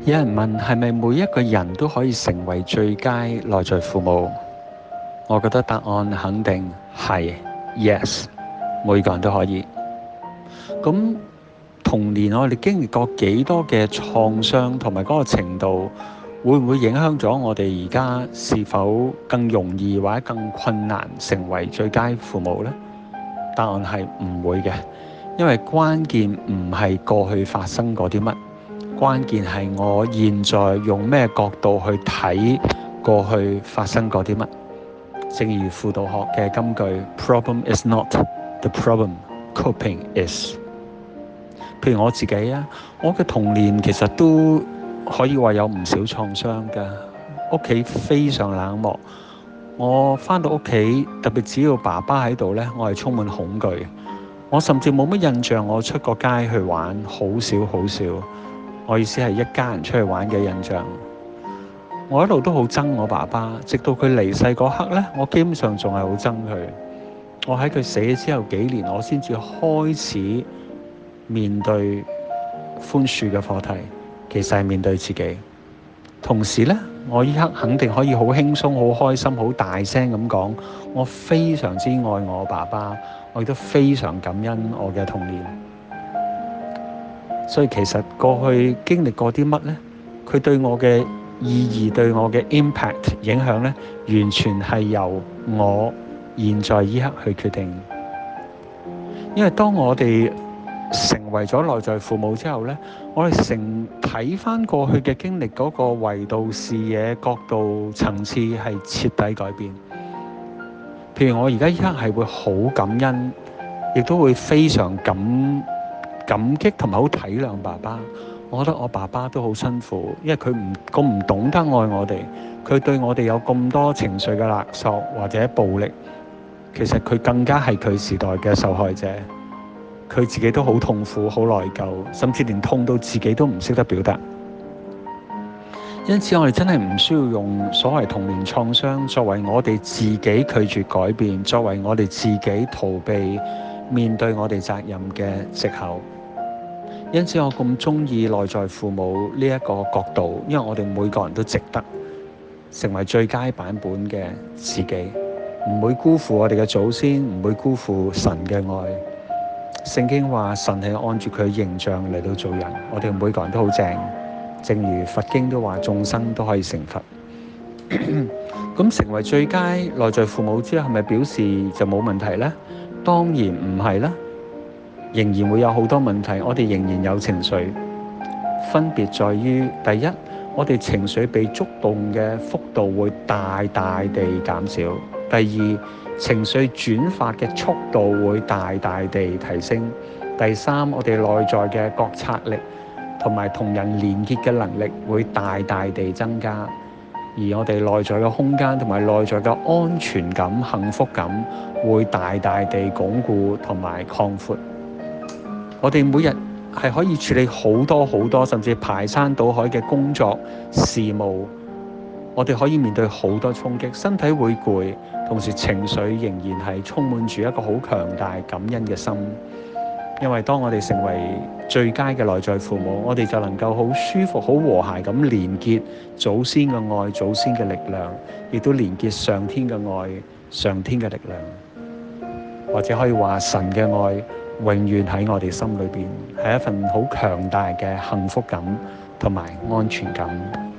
有人問係咪每一個人都可以成為最佳內在父母？我覺得答案肯定係 yes， 每個人都可以。咁童年我哋經歷過幾多嘅創傷同埋嗰個程度，會唔會影響咗我哋而家是否更容易或者更困難成為最佳父母呢？答案係唔會嘅，因為關鍵唔係過去發生過啲乜，關鍵係我現在用咩角度去睇過去發生過啲乜。正如輔導學嘅金句 Problem is not the problem, coping is。譬如我自己啊，我嘅童年其實都可以話有唔少創傷㗎，屋企非常冷漠。我返到屋企，特別只要爸爸喺度呢，我係充滿恐懼。我甚至冇乜印象我出過街去玩，好少好少。我意思係一家人出去玩嘅印象。我一路都好憎我爸爸，直到佢離世嗰刻呢，我基本上仲係好憎佢。我喺佢死咗之後幾年，我先至開始面對寬恕嘅課題，其實係面對自己。同時呢，我依刻肯定可以好輕鬆、好開心、好大聲咁講，我非常之愛我爸爸，我亦都非常感恩我嘅童年。所以其實過去經歷過啲乜呢？佢對我嘅意義、對我嘅 impact 影響呢，完全係由我現在依刻去決定。因為當我哋成為咗內在父母之後呢，我哋睇返過去嘅經歷嗰個維度、視野、角度、層次係徹底改變。譬如我而家依刻係會好感恩，亦都會非常感激同埋好體諒爸爸。我覺得我爸爸都好辛苦，因為佢唔懂得愛我哋，佢對我哋有咁多情緒嘅勒索或者暴力，其實佢更加係佢時代嘅受害者。佢自己都好痛苦、好內疚，甚至連痛到自己都唔識得表達。因此我哋真係唔需要用所謂童年創傷作為我哋自己拒絕改變，作為我哋自己逃避面對我哋責任嘅藉口。因此我咁鍾意內在父母呢一個角度，因為我哋每個人都值得成為最佳版本嘅自己，唔會辜負我哋嘅祖先，唔會辜負神嘅愛。聖經話神係按住佢嘅形象嚟到做人，我哋每個人都好正，正如佛經都話眾生都可以成佛。咁成為最佳內在父母之後，係咪表示就冇問題呢？當然唔係啦，仍然會有好多問題，我哋仍然有情緒，分別在於第一，我哋情緒被觸動嘅幅度會大大地減少；第二，情緒轉發嘅速度會大大地提升；第三，我哋內在嘅覺察力同埋同人連結嘅能力會大大地增加，而我哋內在嘅空間同埋內在嘅安全感、幸福感會大大地鞏固同埋擴闊。我哋每日係可以處理好多甚至排山倒海嘅工作事務，我哋可以面對好多衝擊，身體會攰，同時情緒仍然係充滿住一個好強大感恩嘅心。因為當我哋成為最佳嘅內在父母，我哋就能夠好舒服、好和諧咁連結祖先嘅愛、祖先嘅力量，亦都連結上天嘅愛、上天嘅力量，或者可以話神嘅愛永遠喺我哋心裏邊，係一份好強大嘅幸福感同埋安全感。